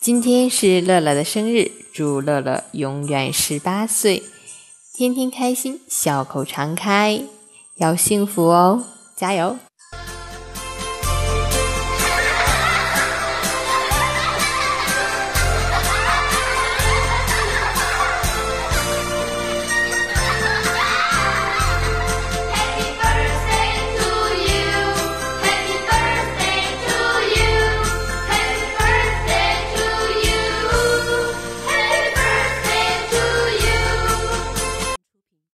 今天是乐乐的生日，祝乐乐永远18岁，天天开心，笑口常开，要幸福哦，加油！